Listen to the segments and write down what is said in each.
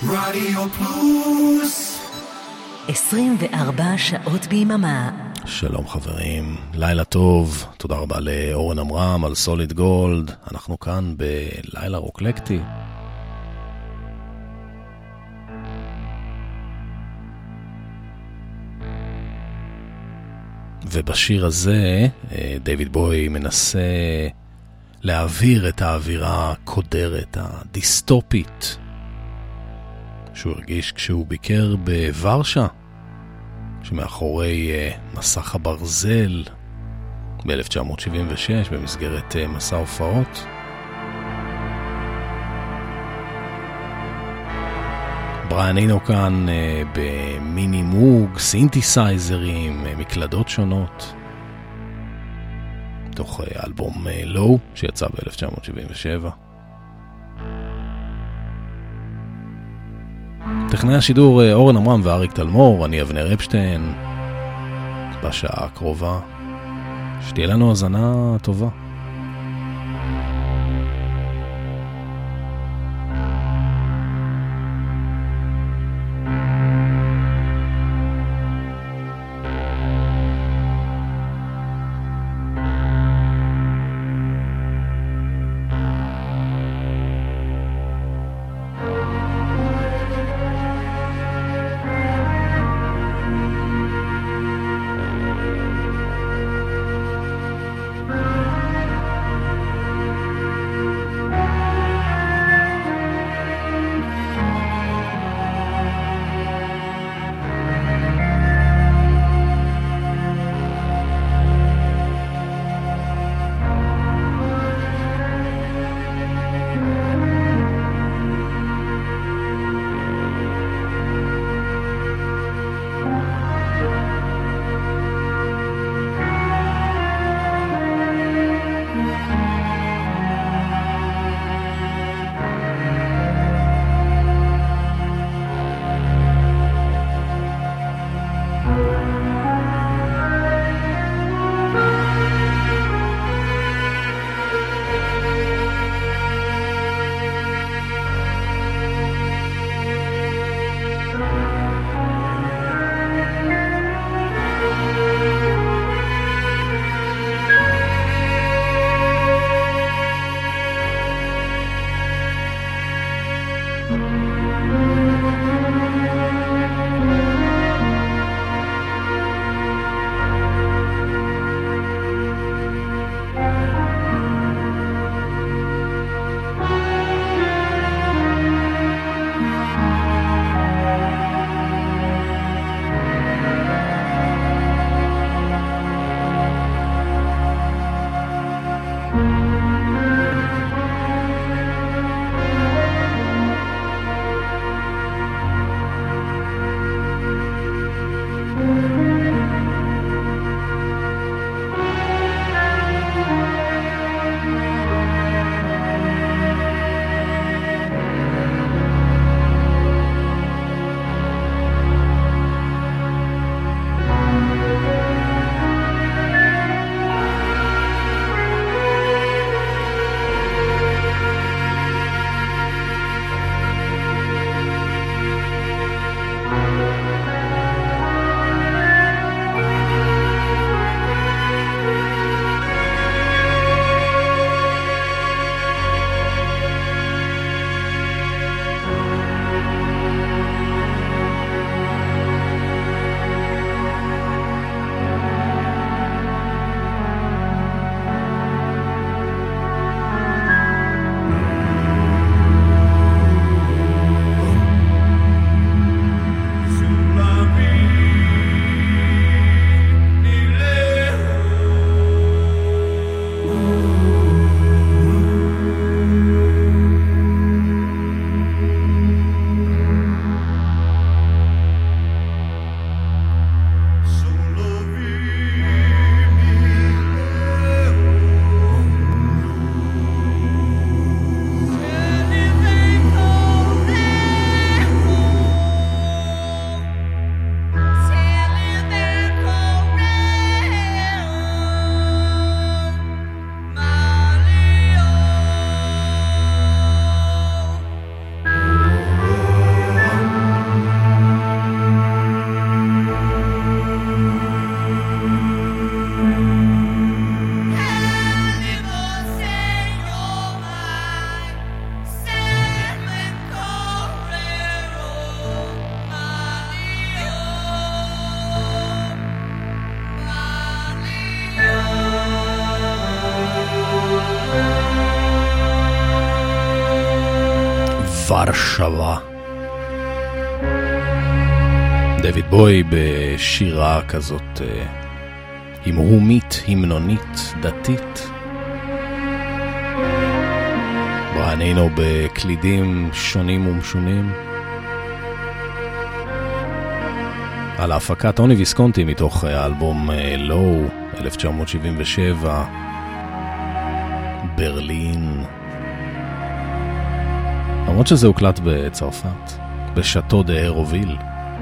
רדיו פלוס 24 שעות ביממה. שלום חברים, לילה טוב, תודה רבה לאורן אמרם על סוליד גולד. אנחנו כאן בלילה רוקלקטי. ובשיר הזה דיוויד בוי מנסה להעביר את האווירה הקודרת, הדיסטופית, שהוא הרגיש כשהוא ביקר בוורשה, שמאחורי מסך הברזל ב-1976 במסגרת מסע הופעות. בריאן אינו כאן במיני מוג, סינתסייזרים, מקלדות שונות, תוך אלבום לואו שיצא ב-1977. טכנאי השידור אורן אמרם ואריק תלמור, אני אבנר אפשטיין. בשעה הקרובה שתהיה לנו האזנה טובה. ורשבה. דויד בוי בשירה כזאת המהומית, המנונית, דתית. בריאן אינו בקלידים שונים ומשונים. על ההפקה טוני ויסקונטי מתוך האלבום לואו 1977, ברלין. למרות שזה הוקלט בצרפת, בשאטו דה אירוביל.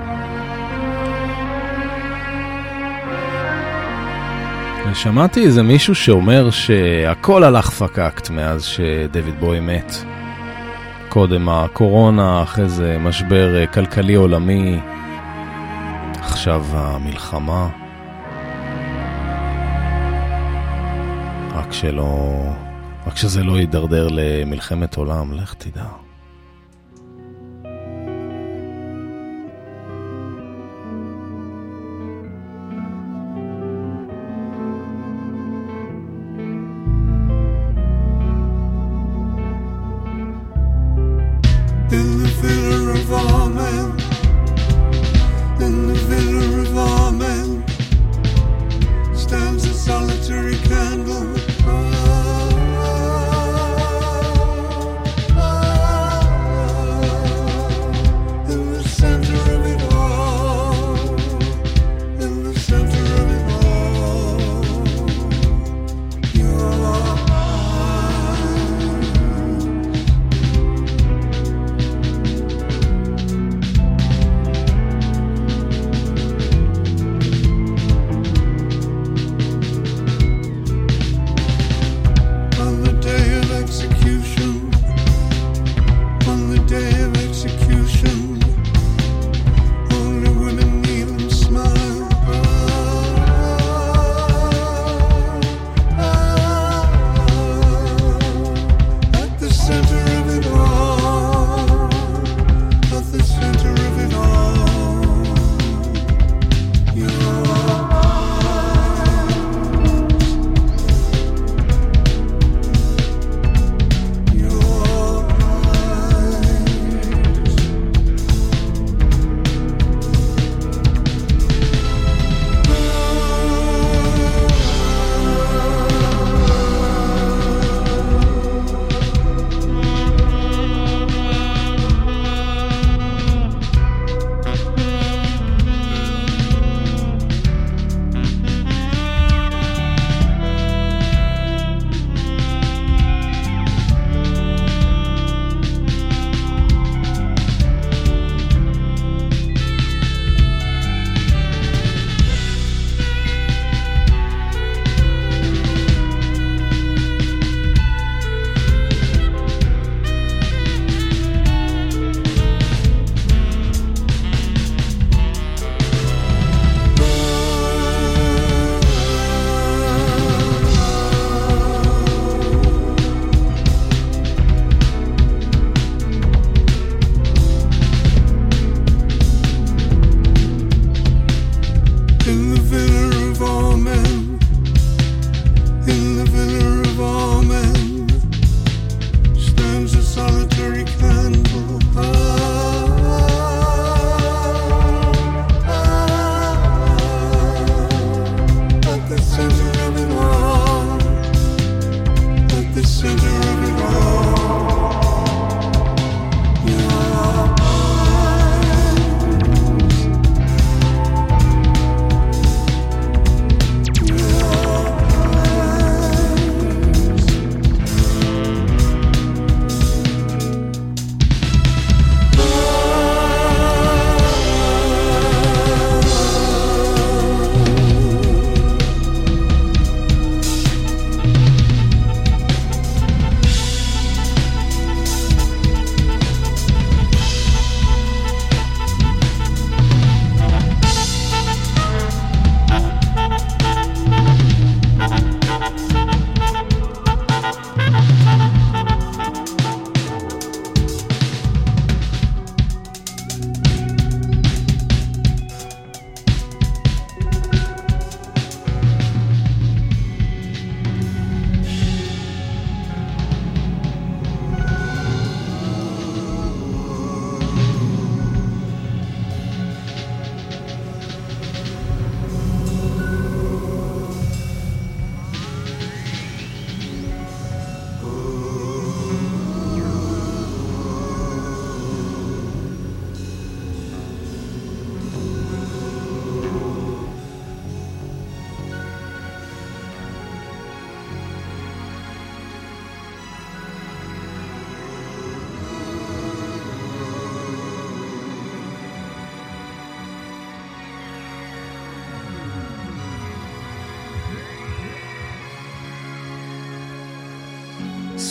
שמעתי איזה מישהו שאומר שהכל הלך פקקט מאז שדויד בוי מת. קודם הקורונה, אחרי זה משבר כלכלי עולמי, עכשיו המלחמה. רק שזה לא יידרדר למלחמת עולם, לך תדע.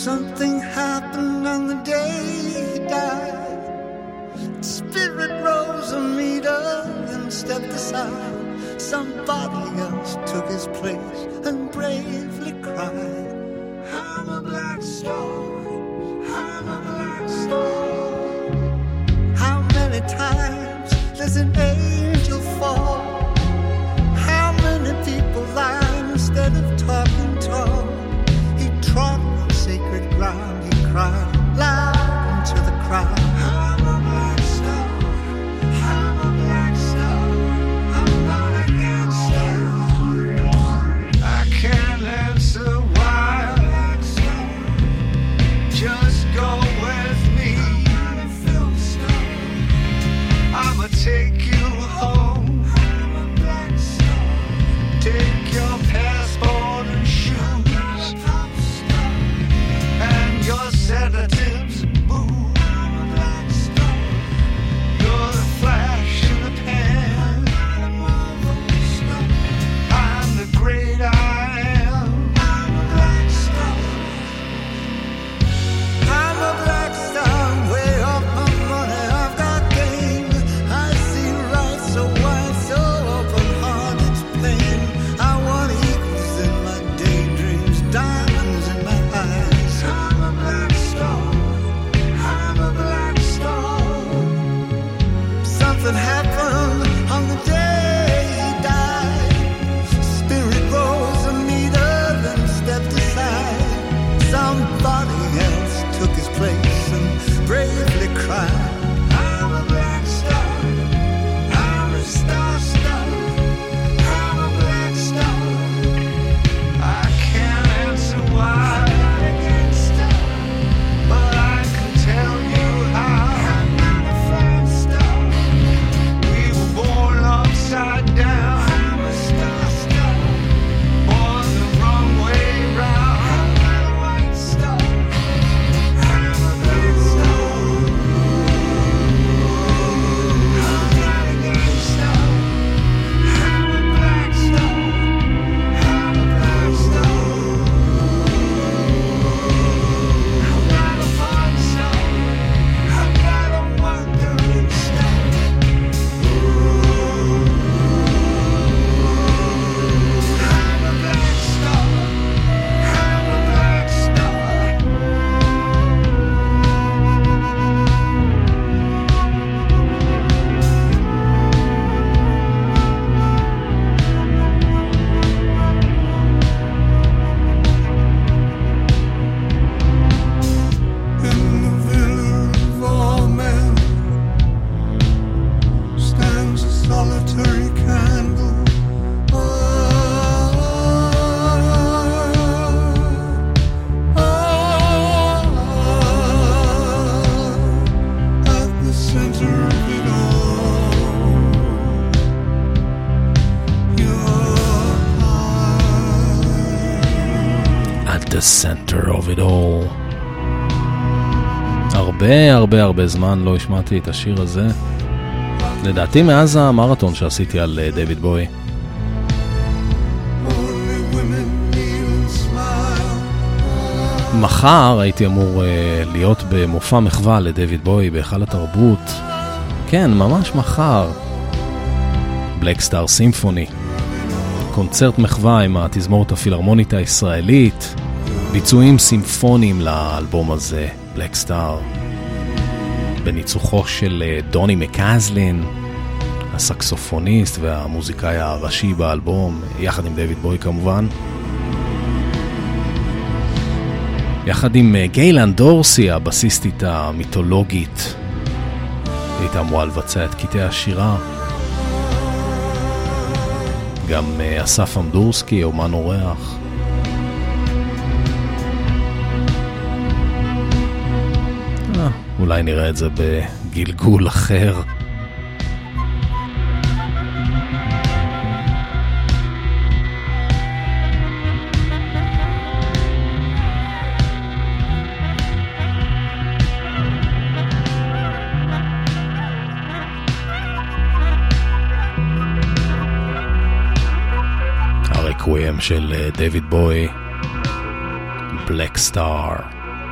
Something happened on the day he died. Spirit rose a meter and stepped aside. Somebody else took his place and bravely cried, I'm a black star, I'm a black star. How many times does an angel fall? How many people lie instead of talking tall? He trod on sacred ground, he cried loud into the crowd, I'm a black star, I'm a black star, I'm not a gangster. I can't answer why, just go with me, I'ma take you home, take your passport and shoes and your sedatives, boo. You're the flash in the pan, I'm the great I am. I'm a black star, way off my money, I've got game. I see right so wide, so open heart, it's plain. I want eagles in my daydreams, diamonds in my eyes. I'm a black star, I'm a black star. Something happened on the day he died. Spirit rose a meter and stepped aside. Somebody else took his place and bravely cried, I'm a black star, I'm a star star, I'm a black star. I can't answer why, but I can tell you how. I'm not a flying star. We were born upside down. I'm a star star, born the wrong way round. I'm not a white star. I'm a black star. I'm not a gay star. I'm a black star. I'm a black star. I'm not a fun star. I'm not a wandering star. I'm a black star. I'm a black star. In the village of all men stands a solitary candle. At the center of it all, you're At the center of it all. הרבה זמן לא השמעתי את השיר הזה. לדעתי מאז המרתון שעשיתי על דיוויד בוי. only women kneel and smile. מחר הייתי אמור להיות במופע מחווה לדיוויד בוי בהיכל התרבות. כן, ממש מחר. בלק סטאר סימפוני. קונצרט מחווה עם התזמורת הפילהרמונית הישראלית. ביצועים סימפוניים לאלבום הזה, בלק סטאר. בניצוחו של דוני מקזלין, הסקסופוניסט והמוזיקאי הראשי באלבום, יחד עם דיוויד בוי כמובן. יחד עם גיילן דורסי, הבסיסטית המיתולוגית. הייתה אמורה לבצע את קטעי השירה. גם אסף אמדורסקי, אומן אורח. אולי נראה את זה בגלגול אחר. הרקוויאם של דיוויד בוי, בלק סטאר.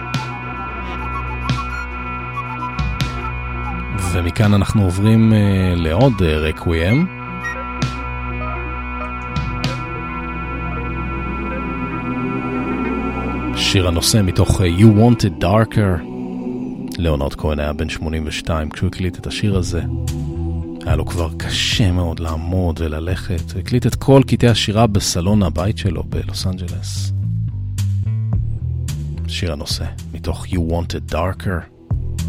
ומכאן אנחנו עוברים לעוד רקוויאם. שיר הנושא מתוך You Wanted Darker. ליאונרד כהן היה בן 82 כשהוא הקליט את השיר הזה. היה לו כבר קשה מאוד לעמוד וללכת. הוא הקליט את כל קטעי השירה בסלון הבית שלו בלוס אנג'לס. שיר הנושא מתוך You Wanted Darker.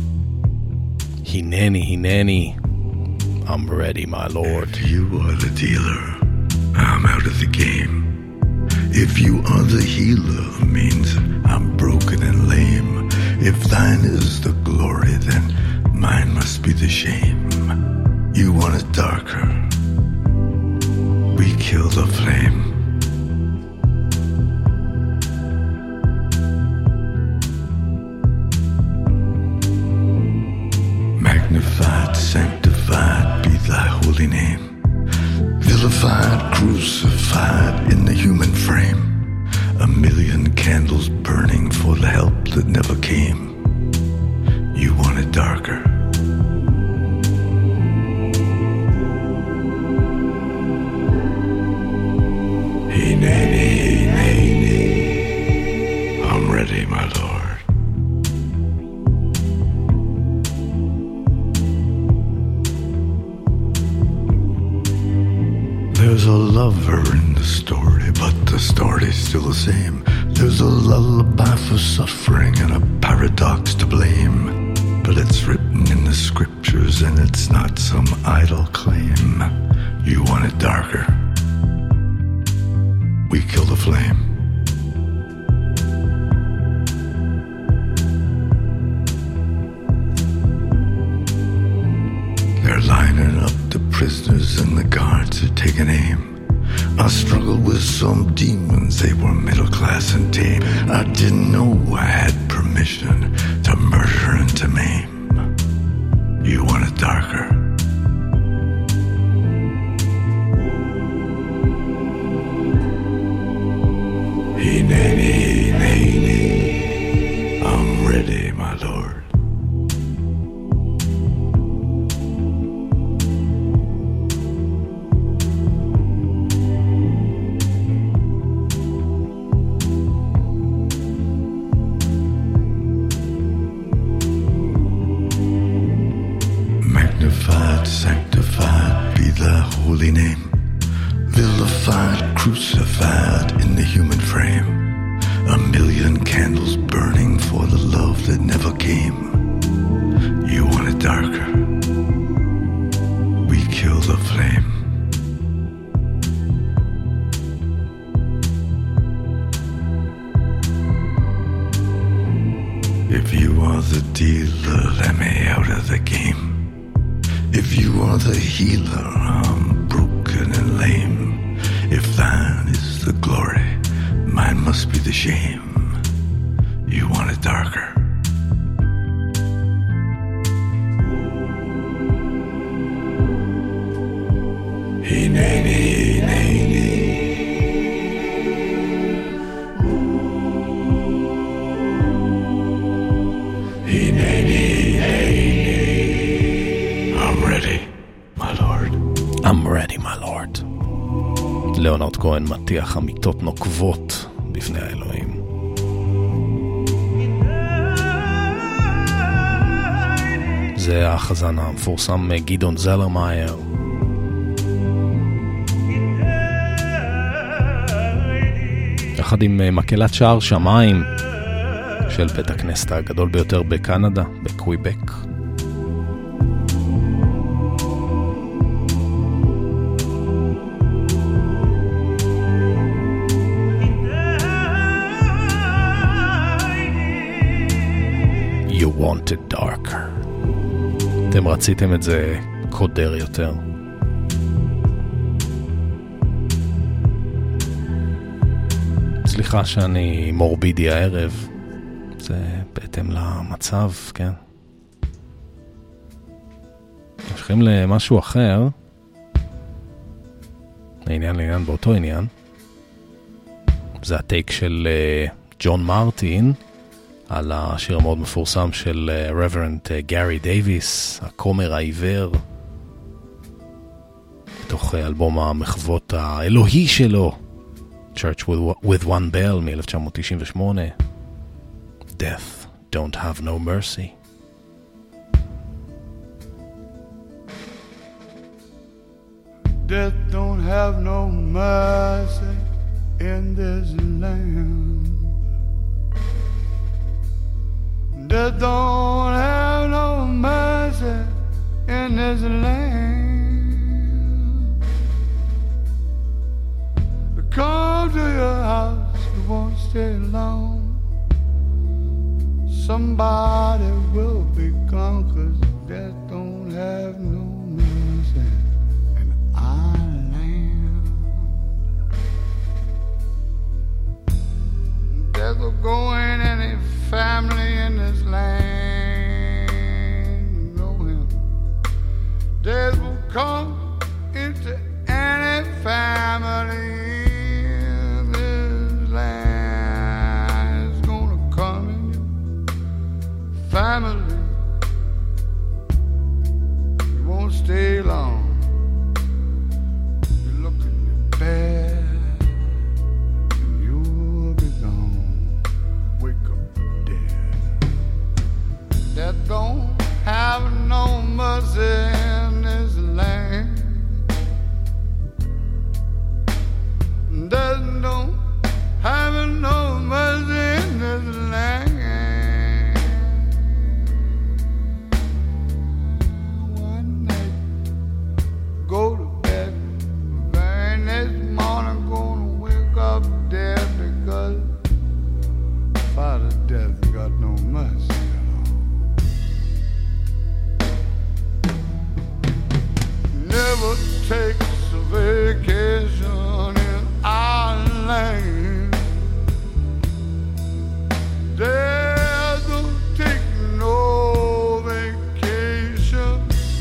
Hineni, I'm ready, my lord. If you are the dealer, I'm out of the game. If you are the healer, means I'm broken and lame. If thine is the glory, then mine must be the shame. You want it darker, we kill the flame. Magnified, sanctified be thy holy name. Vilified, crucified in the human frame. A million candles burning for the help that never came. You want it darker. Hineni, I'm ready, my lord. There's a lover in the story, but the story's still the same. There's a lullaby for suffering and a paradox to blame. But it's written in the scriptures and it's not some idle claim. You want it darker, we kill the flame. They're lining up the prisoners and the guards are taking aim. I struggled with some demons, they were middle class and tame. I didn't know I had permission to murder and to maim. You want it darker, Hineni, I'm ready, my lord. Magnified, sanctified be thy holy name. Vilified, crucified in the human frame. A million candles burning for the love that never came. You want it darker, we kill the flame. If you are the dealer, let me out of the game. If you are the healer, I'm broken and lame. If thine is the glory, mine must be the shame. You want it darker, Hineni. I'm ready, my lord. ליאונרד כהן מטיח אמיתות נוקבות בפני האלוהים. זה החזן המפורסם גדעון זלרמייר. יחד עם מקהלת שער שמיים של בית הכנסת הגדול ביותר בקנדה, בקוויבק. Wanted Darker. אתם רציתם את זה קודר יותר. סליחה שאני מורבידי הערב. זה בהתאם למצב, כן. נשכים למשהו אחר. לעניין באותו עניין. זה הטייק של ג'ון מרטין על השיר המאוד מפורסם של רוורנט גארי דייביס, הכומר העיוור, בתוך אלבום המחוות האלוהי שלו, Church with One Bell מ-1998, Death Don't Have No Mercy. Death don't have no mercy in this land. Death don't have no mercy in this land. Come to your house, you won't stay long. Somebody will be gone, 'cause death don't have no mercy in our land. Death will go in any family in this land, you know him. Death will come into any family in this land. It's gonna come in your family. You won't stay long. You look in your bed and you'll be gone. Wake up dead. That don't have no mercy in this land. That don't have no mercy in this land. One night, go to bed. Very next morning, gonna wake up dead, because Father Death got no mercy at all. Never takes a vacation in our land. Death don't take no vacation.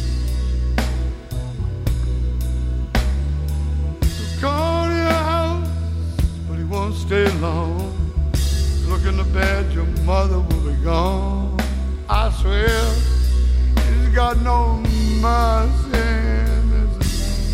Come to your house, but he won't stay long. Look in the bed, your mother will be gone. I swear, he's got no mercy in this land.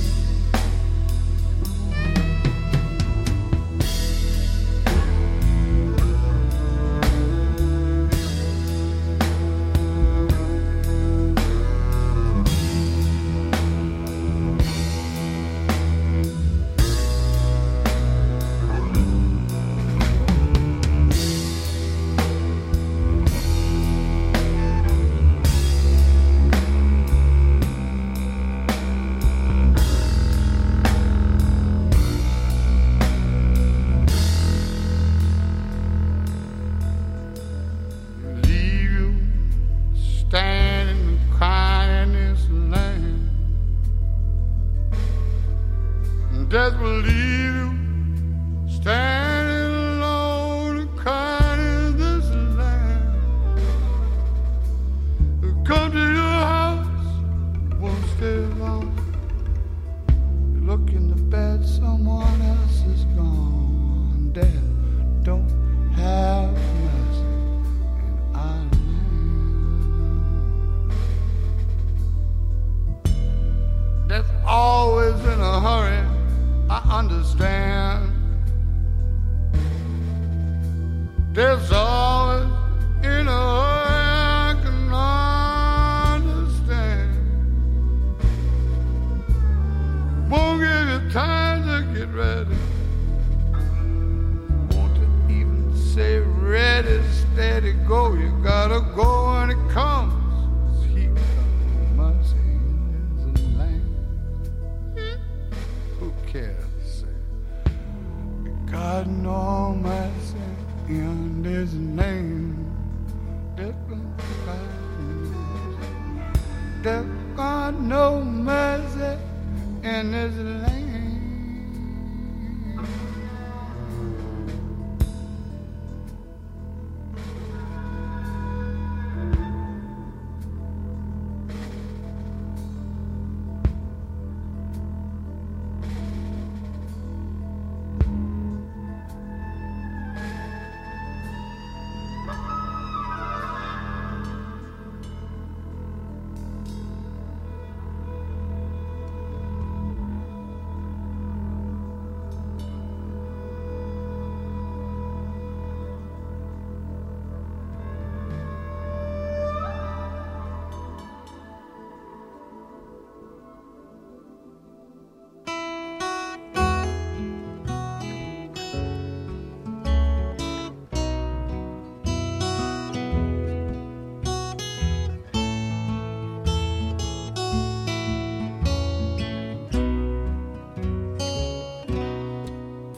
Leave you standing and crying in this land. Death will leave you standing alone and crying in this land. Come to your house, won't stay long. You look in the bed, someone else is gone. Death don't have mercy in our land. Death's always in a hurry, I understand. Death's always in a hurry, I can understand. Won't give you time to get ready. Won't even say ready, steady, go. You gotta go when it comes. He got mercy in his land. Who cares? Say, we got no mercy in his name. There's got no mercy in his land.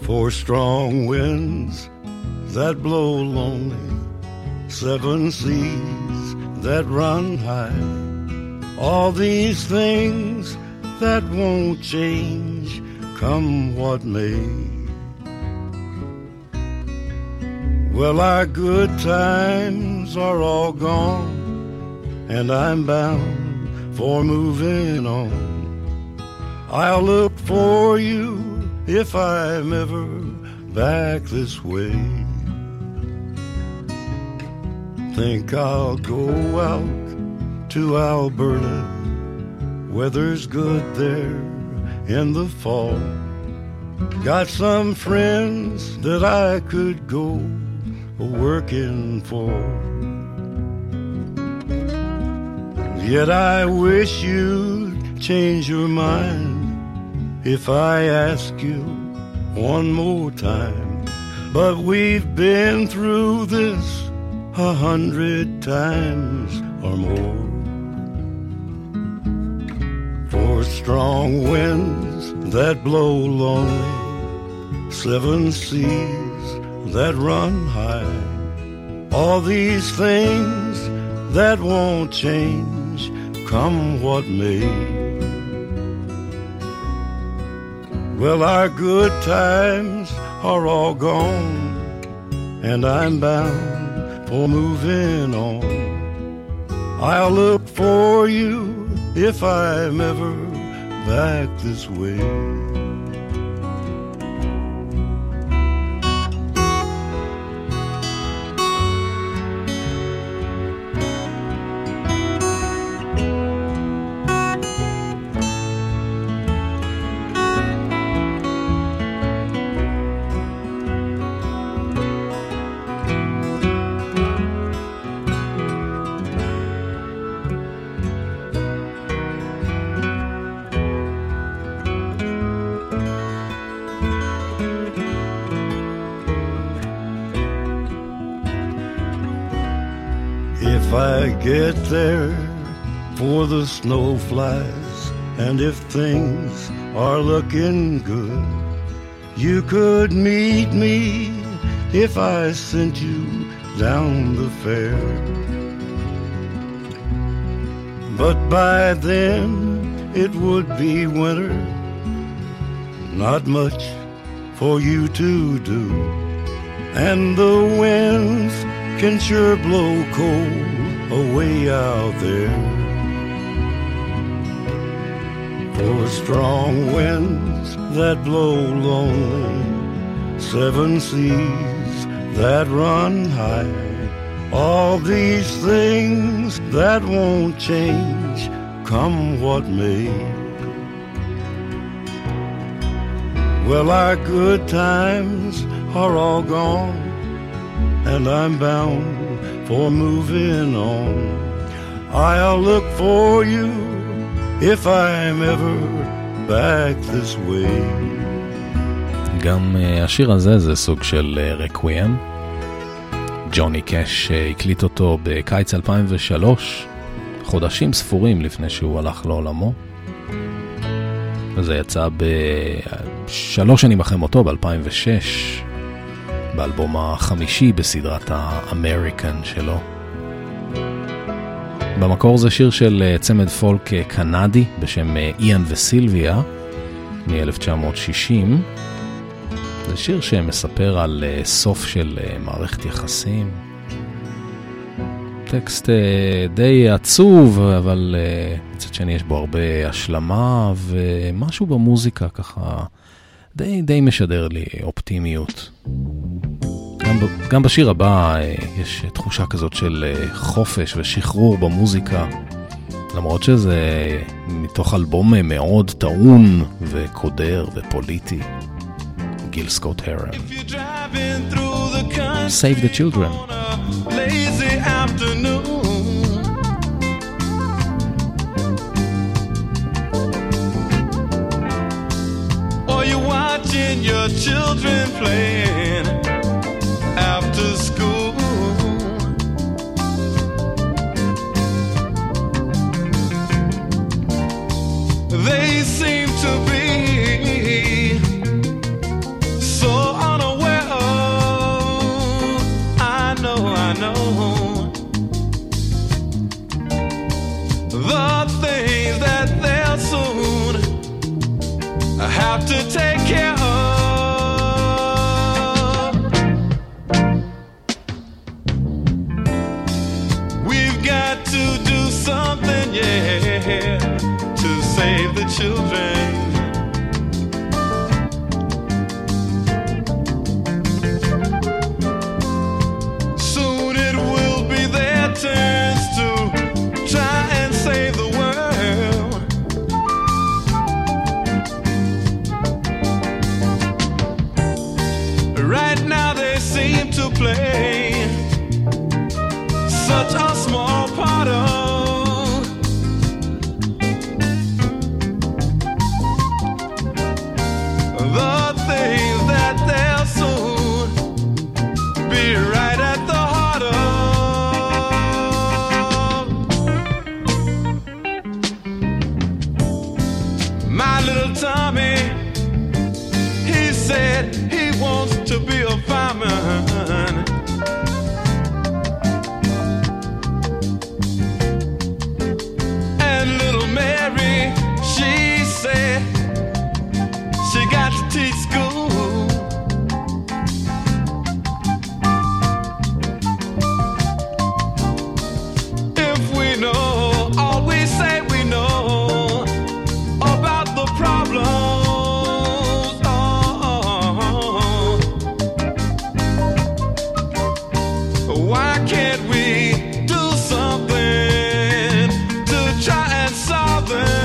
4 strong winds that blow lonely, 7 seas that run high, all these things that won't change, come what may. Well, our good times are all gone, and I'm bound for moving on. I'll look for you if I'm ever back this way. Think I'll go out to Alberta, weather's good there in the fall. Got some friends that I could go working for. Yet I wish you'd change your mind if I ask you one more time. But we've been through this 100 times or more. 4 strong winds that blow lonely, 7 seas that run high, all these things that won't change, come what may. Well, our good times are all gone, and I'm bound for moving on. I'll look for you if I'm ever back this way. If I get there for the snow flies, and if things are looking good, you could meet me if I sent you down the fair. But by then it would be winter, not much for you to do, and the winds can sure blow cold away out there. 4 strong winds that blow lonely, 7 seas that run high, all these things that won't change, come what may. Well, our good times are all gone, and I'm bound for moving on. I'll look for you if I'm ever back this way. גם השיר הזה זה סוג של רקוויאם. ג'וני קאש הקליט אותו בקיץ 2003, חודשים ספורים לפני שהוא הלך לעולמו. וזה יצא ב3 שנים אחרי מותו, ב-2006. באלבום החמישי בסדרת האמריקן שלו. במקור זה שיר של צמד פולק קנדי בשם איאן וסילביה מ-1960. זה שיר שמספר על סוף של מערכת יחסים. טקסט די עצוב, אבל מצד שני יש בו הרבה השלמה, ומשהו במוזיקה ככה די משדר לי אופטימיות. גם בשיר הבא יש תחושה כזאת של חופש ושחרור במוזיקה, למרות שזה מתוך אלבום מאוד טעון וקודר ופוליטי. גיל סקוט הרם, Save the Children. Lazy afternoon, or you're watching your children playing after school. They seem to be so children. Soon it will be their turns to try and save the world. Right now they seem to play such a small part of the things that they'll soon be right at the heart of. My little Tommy, he said he wants to be a fireman. And little Mary, she said she got to teach school. If we know all we say we know about the problems, why can't we do something to try and solve them?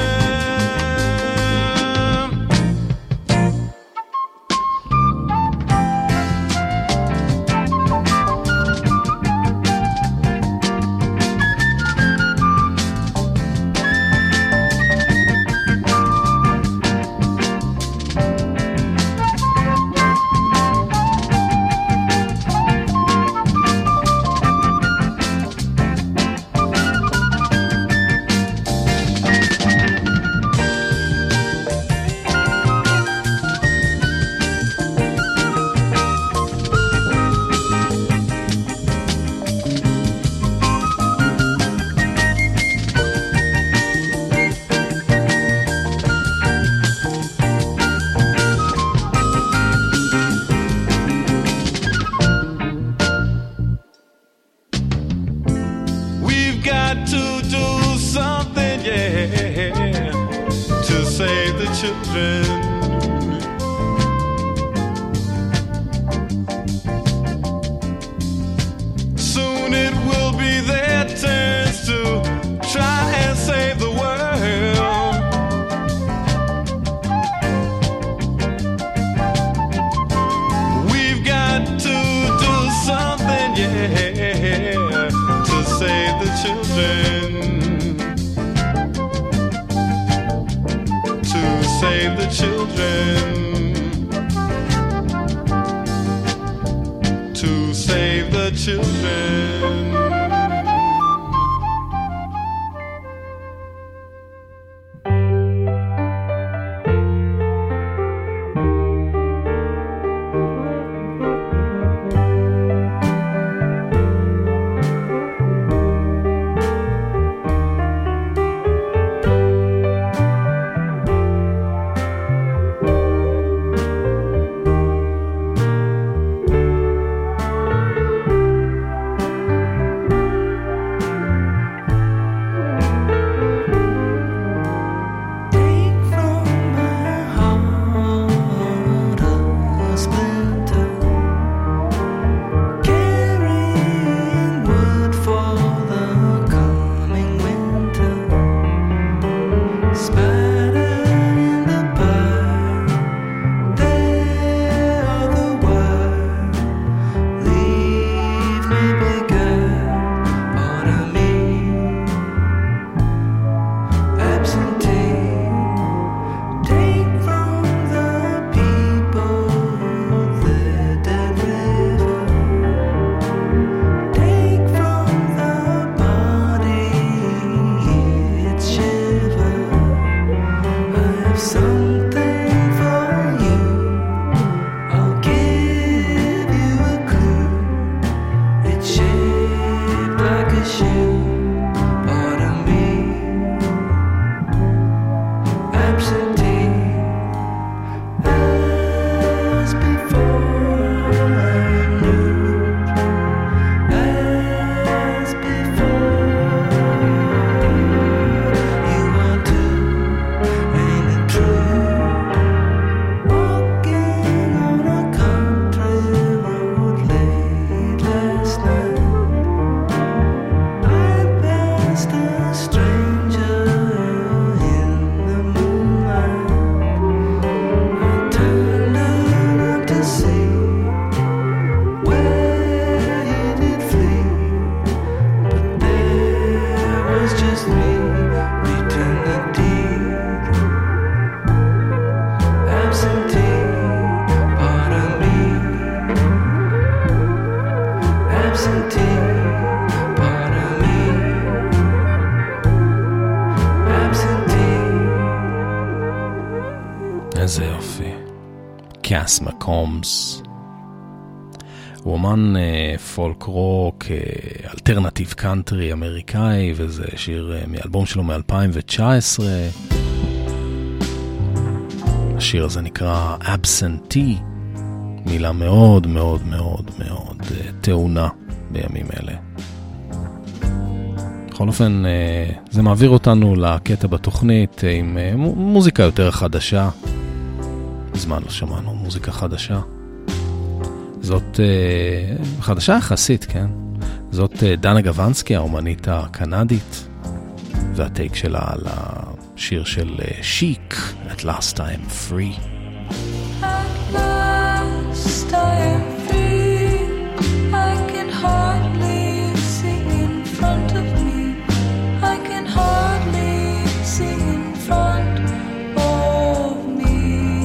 We've got to do something, yeah, to save the children. Soon it will be their turns to try and save the world. We've got to do something, yeah, to save the children. To save the children. To save the children. איזה יופי. קאס מקומס. הוא אומן פולק רוק, אלטרנטיב קאנטרי אמריקאי, וזה שיר מאלבום שלו מ-2019. השיר הזה נקרא Absentee, מילה מאוד מאוד מאוד מאוד טעונה בימים אלה. בכל אופן, זה מעביר אותנו לקטע בתוכנית עם מוזיקה יותר חדשה. בזמן לא שמענו מוזיקה חדשה. זאת חדשה יחסית, כן? זאת דנה גוונסקי, האומנית הקנדית, והטייק שלה על השיר של שיק, At Last I Am Free. At last I am free, I can hardly see in front of me, I can hardly see in front of me.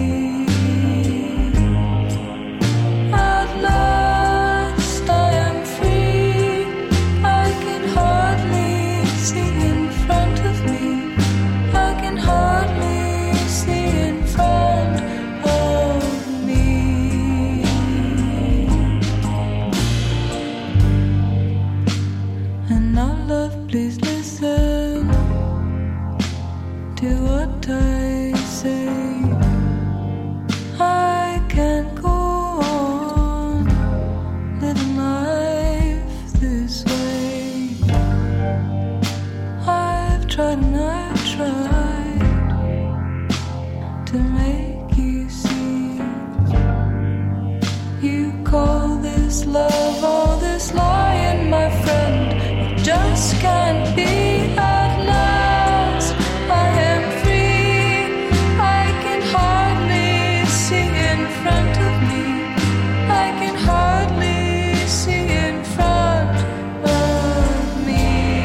At last I am free, I can hardly see in front of me, I can hardly see in front of me. And now love, please listen to what I say. I can't go on living life this way. I've tried and I've tried to make you see. You call this love, all this lying, my friend. It just can't be. At last I am free, I can hardly see in front of me, I can hardly see in front of me.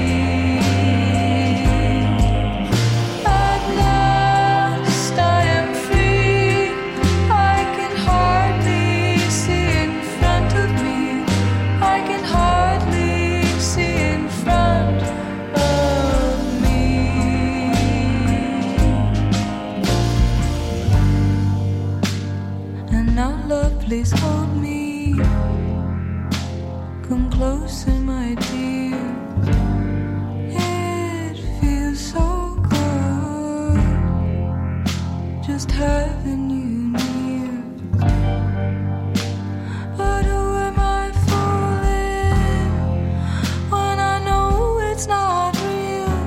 At last I am free, I can hardly see in front of me, I can hardly see in front of me. And now love, please hold me, come closer, my dear. It feels so good just having you near. But who am I fooling when I know it's not real?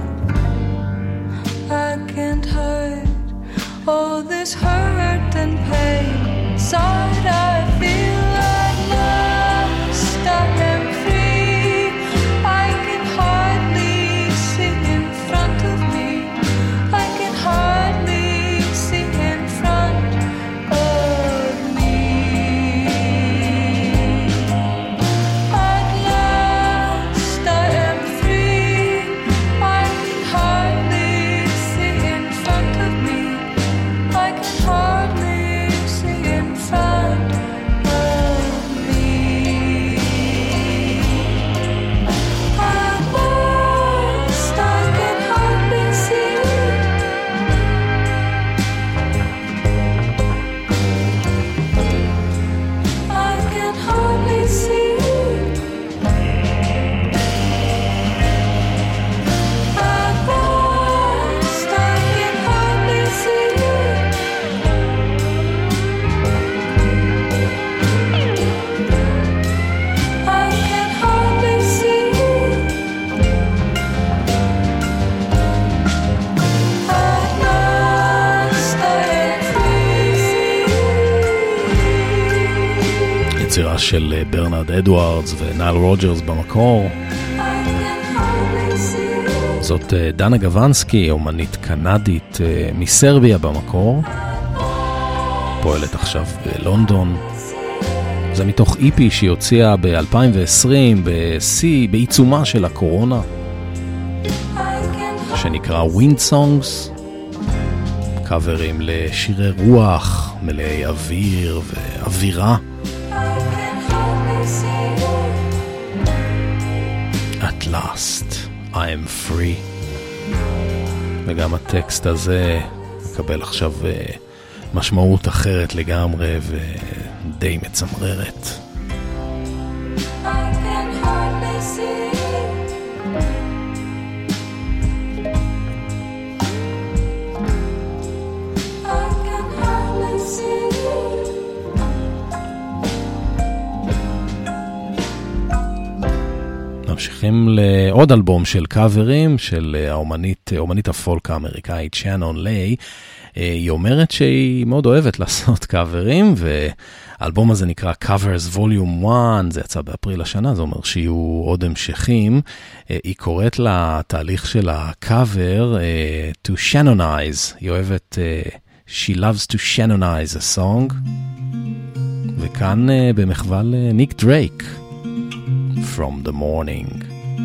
I can't hide all this hurt and pain inside I feel. At last I am free, I can hardly see in front of me, I can hardly see in front of me. At last I am free, I can hardly see in front of me, I can hardly see in front of me. At last I can hardly see. I can hardly see. At last I can hardly see. I can hardly see. At last I am free. יצירה של ברנרד אדוארדס ונייל רוג'רס במקור. I can hardly see. זאת דנה גוונסקי, אומנית קנדית מסרביה במקור, פועלת עכשיו בלונדון. זה מתוך איפי שהיא הוציאה ב-2020 בעיצומה של הקורונה. I can שנקרא Wind Songs, קאברים לשירי רוח מלאי אוויר ואווירה. At last I'm free. וגם הטקסט הזה מקבל עכשיו משמעות אחרת לגמרי ודי מצמררת. ממשיכים לעוד אלבום של קאברים של האומנית הפולק האמריקאית שאנון ליי. היא אומרת שהיא מאוד אוהבת לעשות קאברים, והאלבום הזה נקרא Covers Volume 1, זה יצא באפריל השנה, זה אומר שיהיו עוד המשכים. היא קוראת לתהליך של הקאבר to Shannonize, היא אוהבת She loves to Shannonize a song, וכאן במחווה לניק דרייק, From the Morning,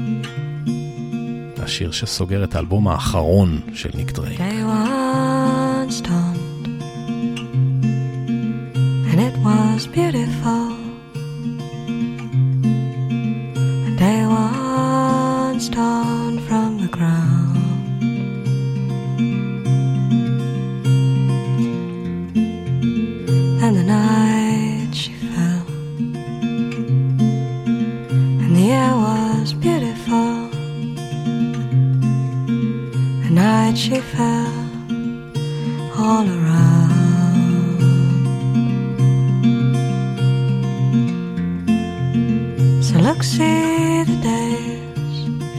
השיר שסוגר את האלבום האחרון של ניק דרייק. And it was beautiful. And day once dawned from the ground. And the night she fell. And the air was beautiful. The night she fell all around. So look, see the days,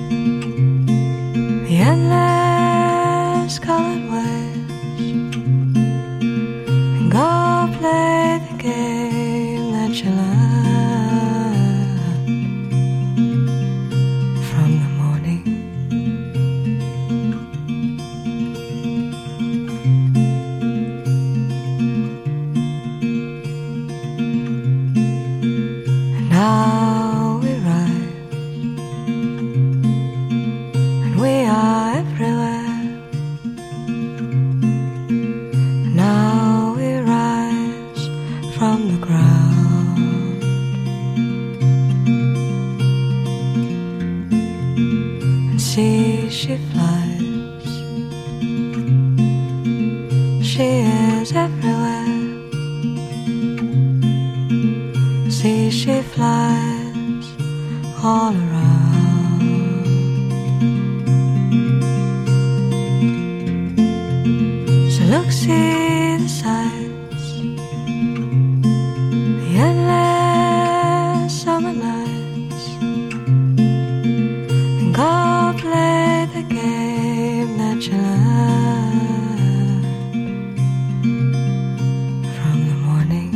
the endless colored waves, and go play the game that you learned from the morning. And now she flies, she is everywhere. See, she flies all around. So look, see the sights, the endless summer nights, and go play the game that you learned from the morning.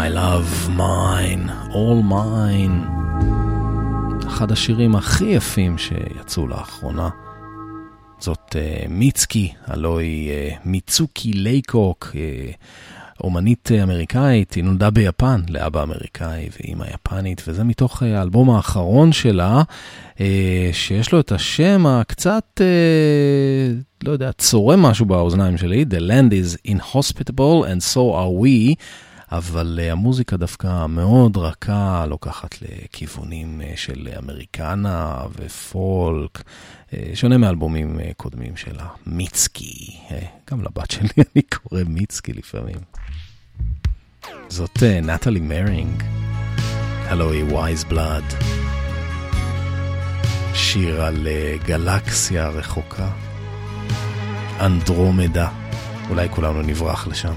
My love, mine, all mine. אחד השירים הכי יפים שיצאו לאחרונה. זאת מיצקי, הלוא היא מיצוקי לייקוק, אומנית אמריקאית, היא נולדה ביפן, לאבא אמריקאי ואמא יפנית, וזה מתוך האלבום האחרון שלה, שיש לו את השם הקצת, לא יודע, צורם משהו באוזניים שלי, The land is inhospitable and so are we, אבל המוזיקה דווקא מאוד רכה, לוקחת לכיוונים של אמריקנה ופולק, שונה מאלבומים קודמים שלה. מיצקי, גם לבת שלי אני קורא מיצקי לפעמים. זאת נטלי מרינג, הלו היא Wise Blood, שיר על גלקסיה רחוקה, אנדרומדה, אולי כולנו נברח לשם.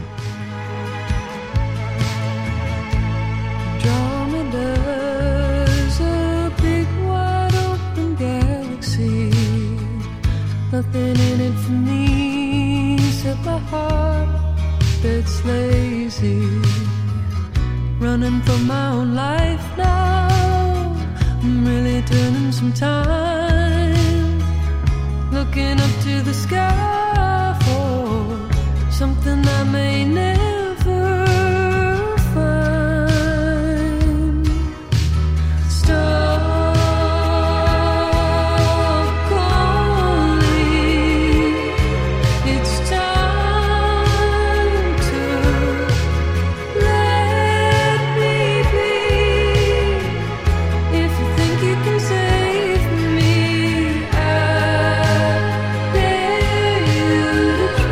Andromeda's a big wide open galaxy, nothing in it for me except my heart that's lazy, running from my own life now. I'm really turning some time, looking up to the sky for something I may never find. Stop calling, it's time to let me be. If you think you can save me, I dare you to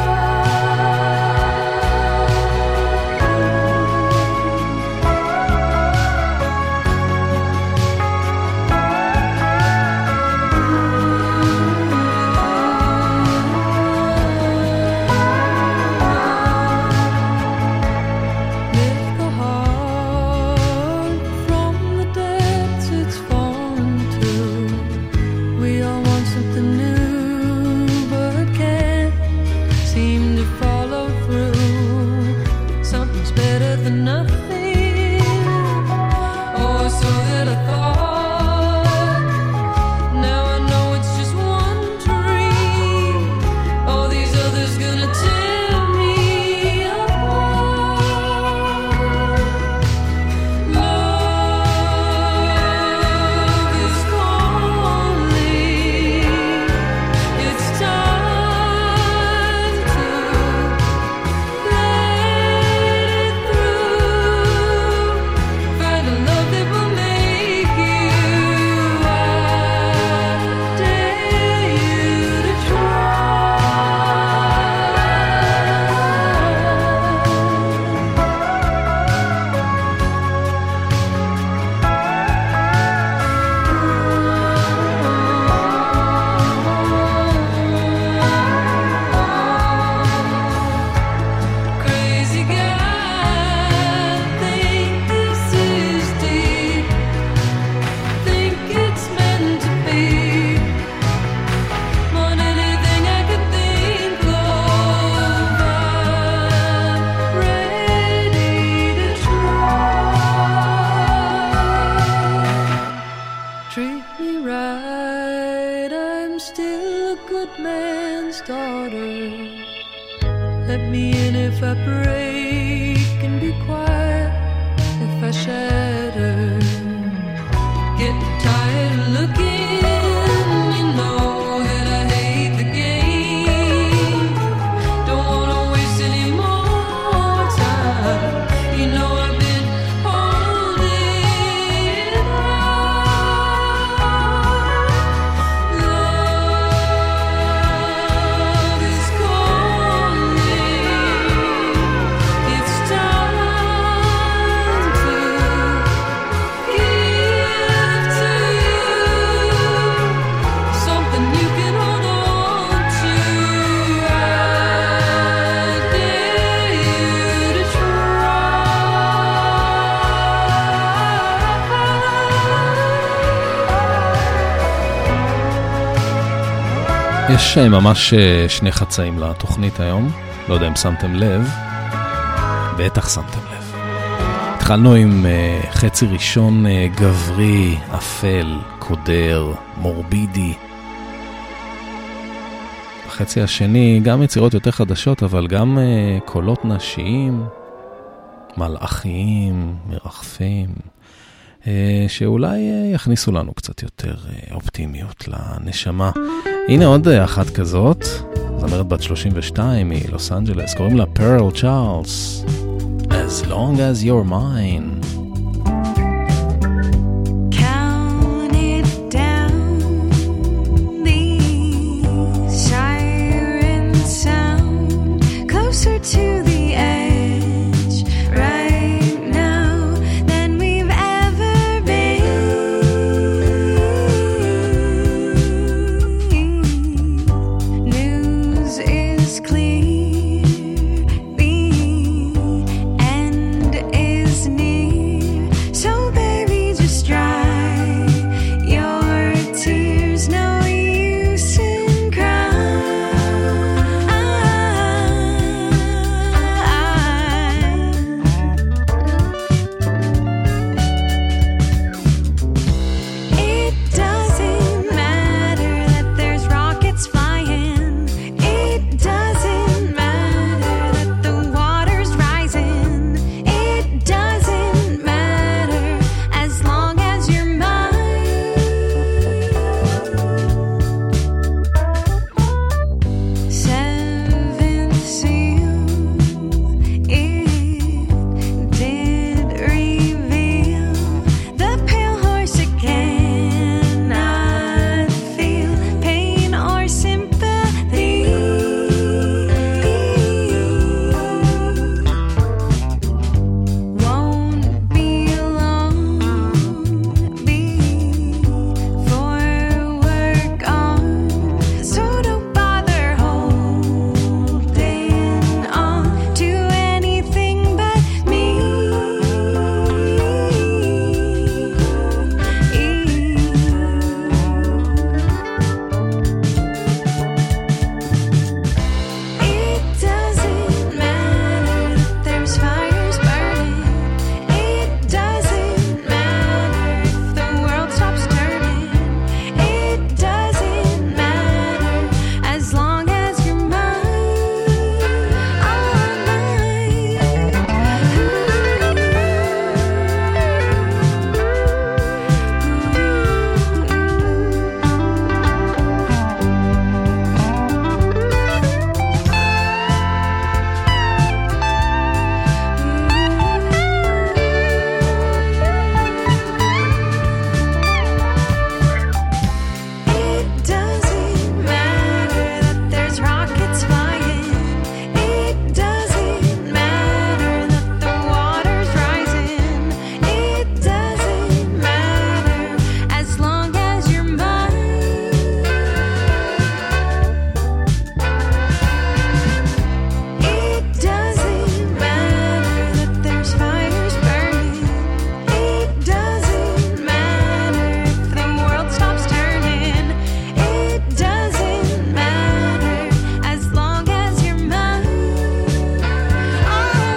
lift the heart from the depths it's fallen to. We all want something new, but can't seem to follow through. Something's better than nothing. Oh, so that I thought. Now I know it's just one dream. All these others gonna tear me apart. Love is calling. It's time to let it through. Find a love that will make you. I dare you to try. Crazy guy, think this is deep. Think it's meant to be. More than anything I could think of, I'm ready to try. Treat me right, I'm still a good man's daughter. Let me in if I break, and be quiet if I shatter. Getting tired of looking, you know that I hate the game. Don't wanna waste any more time. You know I've been holding on. Love is calling. It's time to give to you something you can hold on to. I dare you to try. יש ממש שני חצאים לתוכנית היום, לא יודע אם שמתם לב, בטח שמתם לב. התחלנו עם חצי ראשון גברי, אפל, קודר, מורבידי. בחצי השני גם יצירות יותר חדשות, אבל גם קולות נשיים, מלאכיים, מרחפים, שאולי יכניסו לנו קצת יותר אופטימיות לנשמה. הנה עוד אחת כזאת, זמרת בת 32 מלוס אנג'לס, קוראים לה פרל צ'ארלס. As long as you're mine. Count it down, these sirens sound closer to the edge right now than we've ever been. News is clear, the end is near, so baby just dry your tears, no use in It doesn't matter that there's rockets flying. It doesn't matter that the water's rising. It doesn't matter as long as you're mine. Seventh seal, it did reveal the pale horse cannot feel pain or sympathy. Won't be long before we're gone, so don't bother holding on to anything but me. It doesn't matter that there's fires burning. It doesn't matter if the world stops turning. It doesn't matter as long as you're mine. All mine. It doesn't matter that there's rockets flying. It doesn't matter that the water's rising. It doesn't matter as long as you're mine. It doesn't matter that there's fires burning. It doesn't matter if the world stops turning. It doesn't matter as long as you're mine. All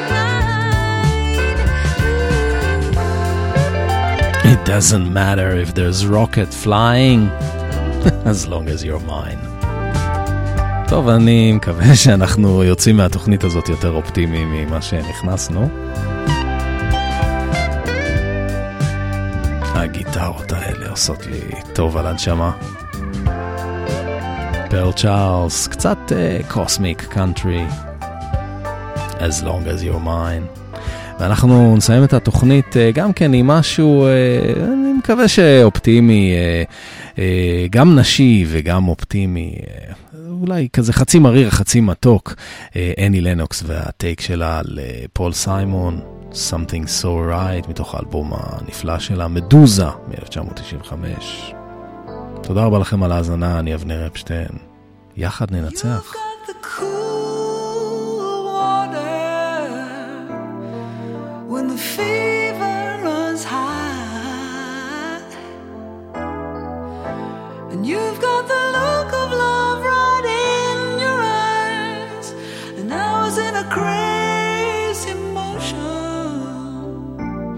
mine. It doesn't matter if there's rocket flying, as long as you're mine. טוב, אני מקווה שאנחנו יוצאים מהתוכנית הזאת יותר אופטימיים ממה שנכנסנו. הגיטרות האלה עושות לי טוב על הנשמה. פרל צ'ארלס, קצת קוסמיק קאנטרי, as long as you're mine. ואנחנו נסיים את התוכנית גם כן עם משהו, אני מקווה שאופטימי, גם נשי וגם אופטימי, אולי כזה חצי מריר, חצי מתוק. אני לנוקס והטייק שלה לפול סיימון, Something So Right, מתוך האלבום הנפלא שלה, מדוזה, מ-1995. תודה רבה לכם על ההאזנה, אני אבנר אפשטיין. יחד ננצח. The cool water when the fever runs high, and you've got the look of love right in your eyes, and I was in a crazy motion.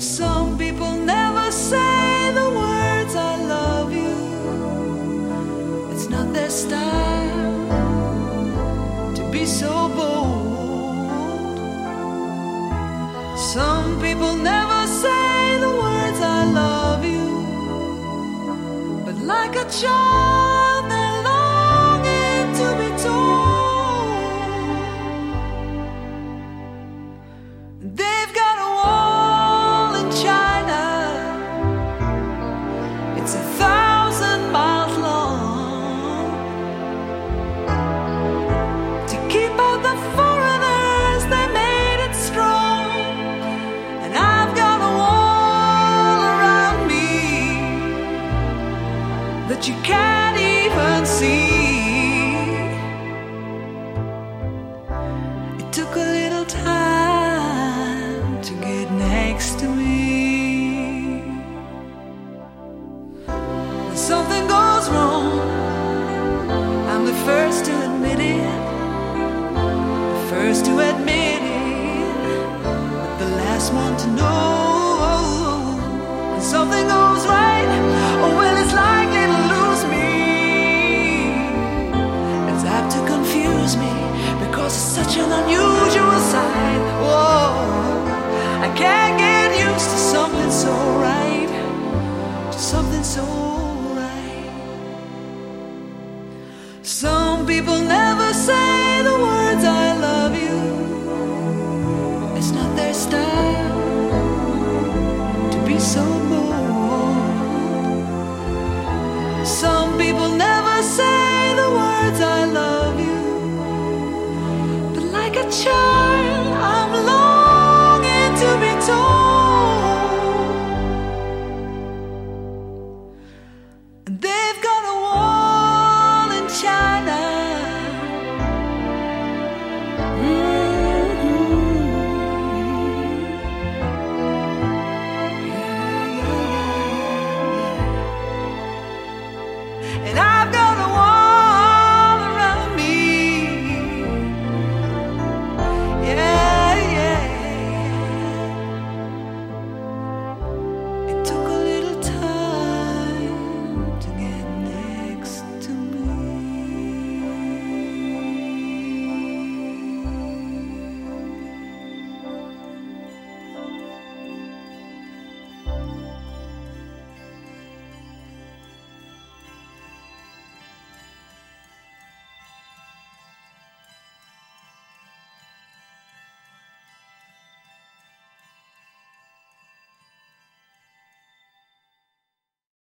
Some people never say the words I love you. It's not their style to be so bold. Some people never say the words I love you, but like a child they're longing to be told. They've got a wall in China, it's 1,000 miles long, to keep out the foreigners. They made it strong, and I've got a wall around me that you can't even see. It took a little time to get next to